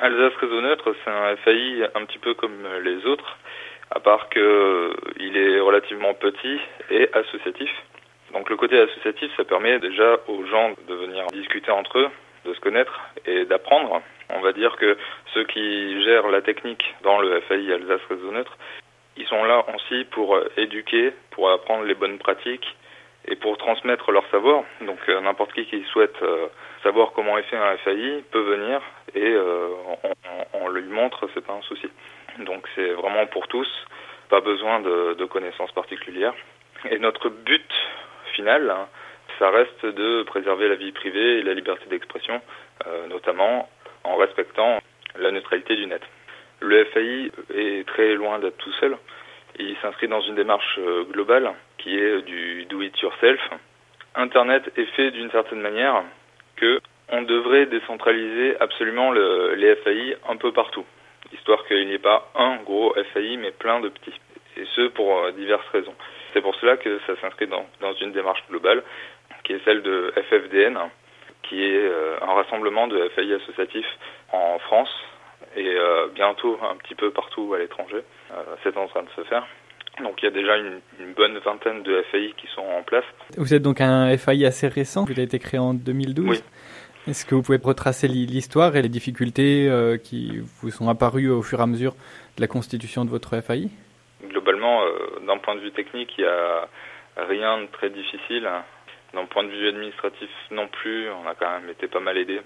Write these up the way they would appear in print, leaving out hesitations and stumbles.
Alsace Réseau Neutre, c'est un FAI un petit peu comme les autres, à part qu'il est relativement petit et associatif. Donc le côté associatif, ça permet déjà aux gens de venir discuter entre eux, de se connaître et d'apprendre. On va dire que ceux qui gèrent la technique dans le FAI Alsace Réseau Neutre, ils sont là aussi pour éduquer, pour apprendre les bonnes pratiques et pour transmettre leur savoir. Donc n'importe qui souhaite savoir comment est fait un FAI peut venir et on lui montre, c'est pas un souci. Donc c'est vraiment pour tous, pas besoin de connaissances particulières. Et notre but final, ça reste de préserver la vie privée et la liberté d'expression, notamment en respectant la neutralité du net. Le FAI est très loin d'être tout seul. Il s'inscrit dans une démarche globale qui est du do-it-yourself. Internet est fait d'une certaine manière que on devrait décentraliser absolument les FAI un peu partout, histoire qu'il n'y ait pas un gros FAI mais plein de petits, et ce pour diverses raisons. C'est pour cela que ça s'inscrit dans une démarche globale qui est celle de FFDN, qui est un rassemblement de FAI associatifs en France et bientôt un petit peu partout à l'étranger. C'est en train de se faire. Donc il y a déjà une bonne vingtaine de FAI qui sont en place. Vous êtes donc un FAI assez récent, vous avez été créé en 2012. Oui. Est-ce que vous pouvez retracer l'histoire et les difficultés qui vous sont apparues au fur et à mesure de la constitution de votre FAI ? Globalement, d'un point de vue technique, il n'y a rien de très difficile. D'un point de vue administratif non plus, on a quand même été pas mal aidé.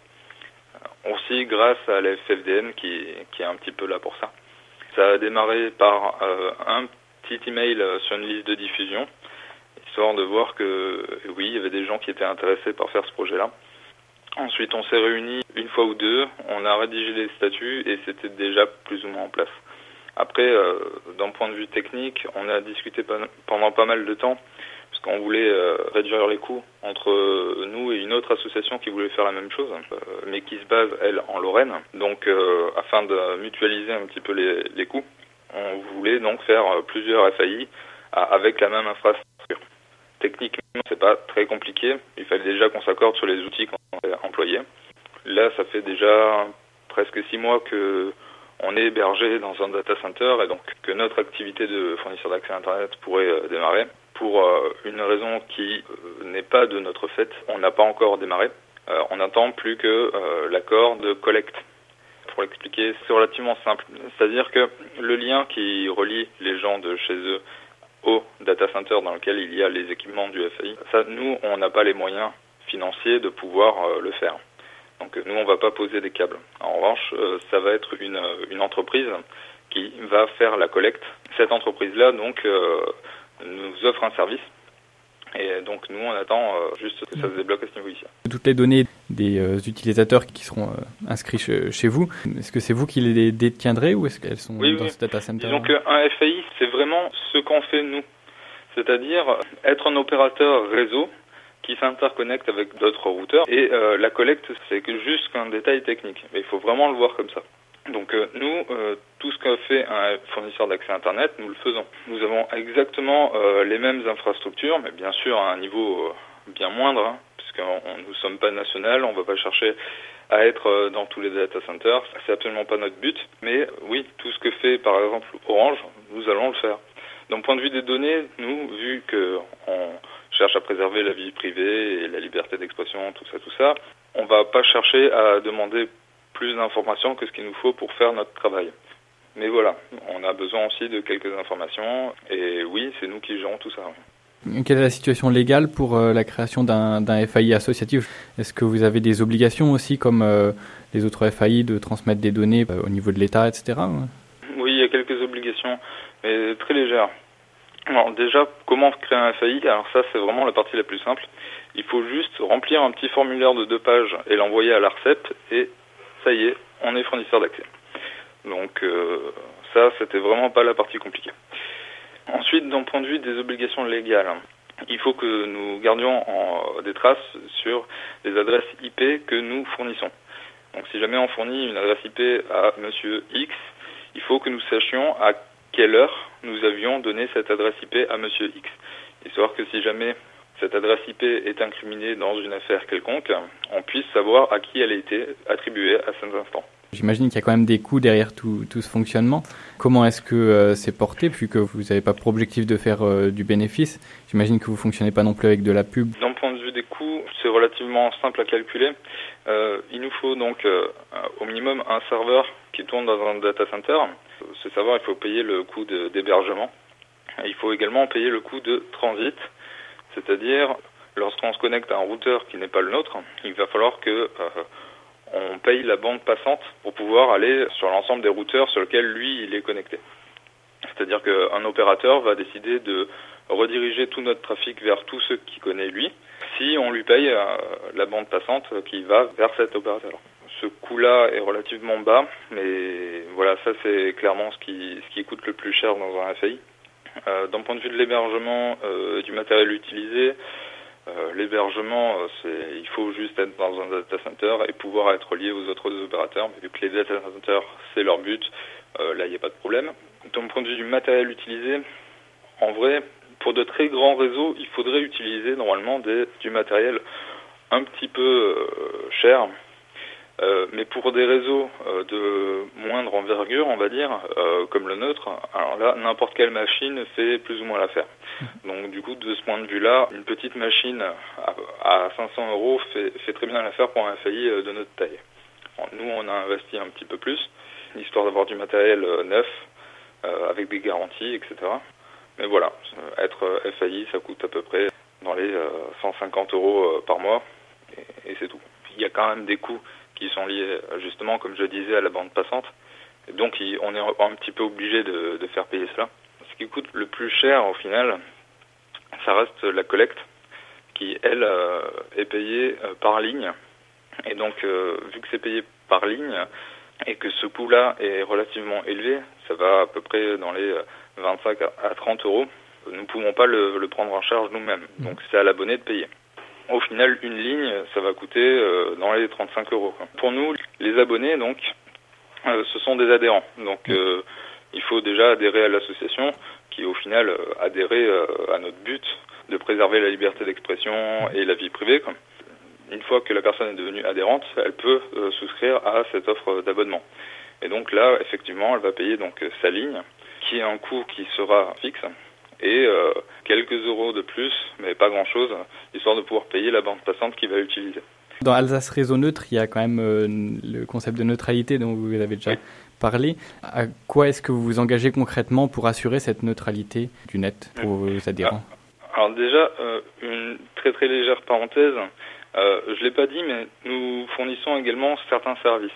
Aussi grâce à la FFDN qui est un petit peu là pour ça. Ça a démarré par un petit email sur une liste de diffusion, histoire de voir que oui, il y avait des gens qui étaient intéressés par faire ce projet-là. Ensuite, on s'est réunis une fois ou deux, on a rédigé les statuts et c'était déjà plus ou moins en place. Après, d'un point de vue technique, on a discuté pendant pas mal de temps, parce qu'on voulait réduire les coûts entre nous et une autre association qui voulait faire la même chose, mais qui se base, elle, en Lorraine. Donc, afin de mutualiser un petit peu les coûts, on voulait donc faire plusieurs FAI avec la même infrastructure. Techniquement, c'est pas très compliqué. Il fallait déjà qu'on s'accorde sur les outils qu'on allait employer. Là, ça fait déjà presque 6 mois que on est hébergé dans un data center et donc que notre activité de fournisseur d'accès à Internet pourrait démarrer. Pour une raison qui n'est pas de notre fait, on n'a pas encore démarré. On n'attend plus que l'accord de collecte. Pour l'expliquer, c'est relativement simple. C'est-à-dire que le lien qui relie les gens de chez eux au data center dans lequel il y a les équipements du FAI, ça, nous, on n'a pas les moyens financiers de pouvoir le faire. Donc nous, on ne va pas poser des câbles. En revanche, ça va être une entreprise qui va faire la collecte. Cette entreprise-là, donc, nous offre un service. Et donc nous, on attend juste que ça se débloque à ce niveau-ci. Toutes les données des utilisateurs qui seront inscrits chez vous, est-ce que c'est vous qui les détiendrez ou est-ce qu'elles sont dans ce data center ? Disons qu'un FAI, c'est vraiment ce qu'on fait nous. C'est-à-dire être un opérateur réseau qui s'interconnecte avec d'autres routeurs. Et la collecte, c'est que juste qu'un détail technique. Mais il faut vraiment le voir comme ça. Donc nous, tout ce qu'a fait un fournisseur d'accès Internet, nous le faisons. Nous avons exactement les mêmes infrastructures, mais bien sûr à un niveau bien moindre, puisque nous ne sommes pas national, on ne va pas chercher à être dans tous les data centers. C'est absolument pas notre but. Mais oui, tout ce que fait par exemple Orange, nous allons le faire. D'un point de vue des données, nous, vu qu'on cherche à préserver la vie privée et la liberté d'expression, tout ça, on va pas chercher à demander plus d'informations que ce qu'il nous faut pour faire notre travail. Mais voilà, on a besoin aussi de quelques informations et oui, c'est nous qui gérons tout ça. Quelle est la situation légale pour la création d'un FAI associatif ? Est-ce que vous avez des obligations aussi, comme les autres FAI, de transmettre des données au niveau de l'État, etc. ? Oui, il y a quelques obligations, mais très légères. Alors déjà, comment créer un FAI ? Alors ça, c'est vraiment la partie la plus simple. Il faut juste remplir un petit formulaire de 2 pages et l'envoyer à l'ARCEP et ça y est, on est fournisseur d'accès. Donc ça, c'était vraiment pas la partie compliquée. Ensuite, d'un point de vue des obligations légales, il faut que nous gardions des traces sur les adresses IP que nous fournissons. Donc si jamais on fournit une adresse IP à Monsieur X, il faut que nous sachions à quelle heure nous avions donné cette adresse IP à Monsieur X. Histoire que si jamais cette adresse IP est incriminée dans une affaire quelconque, on puisse savoir à qui elle a été attribuée à cet instant. J'imagine qu'il y a quand même des coûts derrière tout ce fonctionnement. Comment est-ce que c'est porté, puisque vous n'avez pas pour objectif de faire du bénéfice? J'imagine que vous ne fonctionnez pas non plus avec de la pub. D'un point de vue des coûts, c'est relativement simple à calculer. Il nous faut donc au minimum un serveur qui tourne dans un data center. Ce serveur, il faut payer le coût d'hébergement. Et il faut également payer le coût de transit, c'est-à-dire lorsqu'on se connecte à un routeur qui n'est pas le nôtre, il va falloir que on paye la bande passante pour pouvoir aller sur l'ensemble des routeurs sur lesquels lui il est connecté. C'est-à-dire qu'un opérateur va décider de rediriger tout notre trafic vers tous ceux qu'il connaît lui, si on lui paye la bande passante qui va vers cet opérateur. Ce coût-là est relativement bas, mais voilà, ça c'est clairement ce qui coûte le plus cher dans un FAI. D'un point de vue de l'hébergement du matériel utilisé, l'hébergement, il faut juste être dans un data center et pouvoir être lié aux autres opérateurs. Mais vu que les data centers, c'est leur but, là, il n'y a pas de problème. D'un point de vue du matériel utilisé, en vrai, pour de très grands réseaux, il faudrait utiliser normalement du matériel un petit peu cher. Mais pour des réseaux de moindre envergure, on va dire, comme le nôtre, alors là, n'importe quelle machine fait plus ou moins l'affaire. Donc du coup, de ce point de vue-là, une petite machine à 500 € fait très bien l'affaire pour un FAI de notre taille. Alors, nous, on a investi un petit peu plus, histoire d'avoir du matériel neuf, avec des garanties, etc. Mais voilà, être FAI, ça coûte à peu près dans les 150 € par mois, et c'est tout. Il y a quand même des coûts qui sont liés justement, comme je disais, à la bande passante. Et donc on est un petit peu obligé de faire payer cela. Ce qui coûte le plus cher au final, ça reste la collecte, qui elle est payée par ligne. Et donc vu que c'est payé par ligne et que ce coût-là est relativement élevé, ça va à peu près dans les 25 à 30 €, nous ne pouvons pas le prendre en charge nous-mêmes. Donc c'est à l'abonné de payer. Au final, une ligne, ça va coûter dans les 35 €. Pour nous, les abonnés, donc, ce sont des adhérents. Donc, il faut déjà adhérer à l'association, qui au final adhérer à notre but de préserver la liberté d'expression et la vie privée. Une fois que la personne est devenue adhérente, elle peut souscrire à cette offre d'abonnement. Et donc là, effectivement, elle va payer donc sa ligne, qui est un coût qui sera fixe, et quelques euros de plus, mais pas grand-chose, histoire de pouvoir payer la bande passante qu'il va utiliser. Dans Alsace Réseau Neutre, il y a quand même le concept de neutralité dont vous avez déjà parlé. À quoi est-ce que vous vous engagez concrètement pour assurer cette neutralité du net pour vos adhérents? Alors déjà, une très très légère parenthèse, je ne l'ai pas dit, mais nous fournissons également certains services.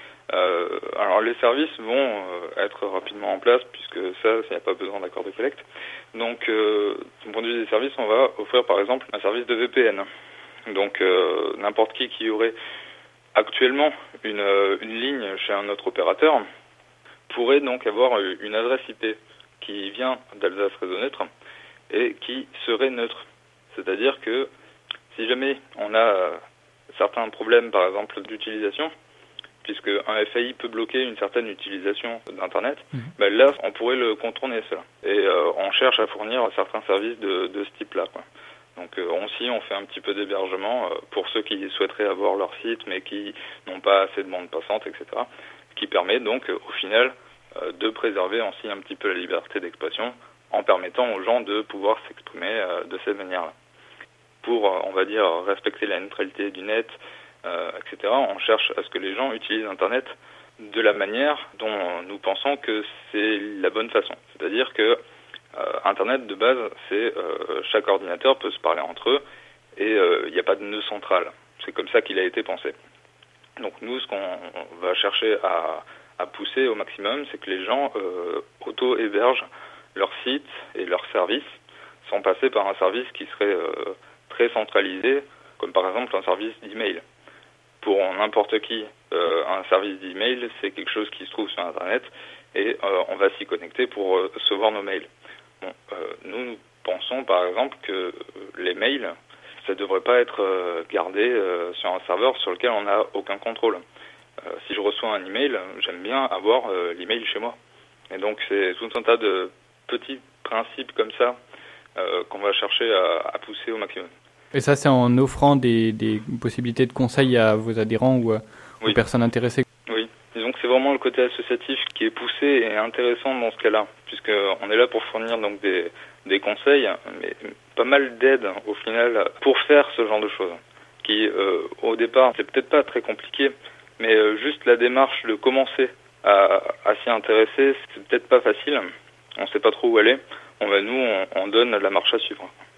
Alors les services vont être rapidement en place, puisque ça, il n'y a pas besoin d'accord de collecte. Donc, du point de vue des services, on va offrir par exemple un service de VPN. Donc, n'importe qui aurait actuellement une ligne chez un autre opérateur pourrait donc avoir une adresse IP qui vient d'Alsace Réseau Neutre et qui serait neutre. C'est-à-dire que si jamais on a certains problèmes, par exemple, d'utilisation, puisque un FAI peut bloquer une certaine utilisation d'Internet, ben là, on pourrait le contourner, cela. Et on cherche à fournir certains services de ce type-là, quoi. Donc on fait un petit peu d'hébergement pour ceux qui souhaiteraient avoir leur site, mais qui n'ont pas assez de bande passante, etc. Qui permet donc, au final, de préserver aussi un petit peu la liberté d'expression, en permettant aux gens de pouvoir s'exprimer de cette manière-là. Pour, on va dire, respecter la neutralité du net, etc., on cherche à ce que les gens utilisent Internet de la manière dont nous pensons que c'est la bonne façon. C'est-à-dire que Internet, de base, c'est chaque ordinateur peut se parler entre eux et il n'y a pas de nœud central. C'est comme ça qu'il a été pensé. Donc nous, ce qu'on va chercher à pousser au maximum, c'est que les gens auto-hébergent leur site et leurs services sans passer par un service qui serait très centralisé, comme par exemple un service d'email. Pour n'importe qui, un service d'email, c'est quelque chose qui se trouve sur Internet et on va s'y connecter pour recevoir nos mails. Bon, nous pensons par exemple que les mails, ça ne devrait pas être gardé sur un serveur sur lequel on n'a aucun contrôle. Si je reçois un email, j'aime bien avoir l'email chez moi. Et donc c'est tout un tas de petits principes comme ça qu'on va chercher à pousser au maximum. Et ça, c'est en offrant des possibilités de conseils à vos adhérents ou aux personnes intéressées? Oui, disons que vraiment le côté associatif qui est poussé et intéressant dans ce cas-là, puisqu'on est là pour fournir donc des conseils, mais pas mal d'aide au final pour faire ce genre de choses, qui au départ c'est peut-être pas très compliqué, mais juste la démarche de commencer à s'y intéresser, c'est peut-être pas facile, on sait pas trop où aller, nous on donne la marche à suivre.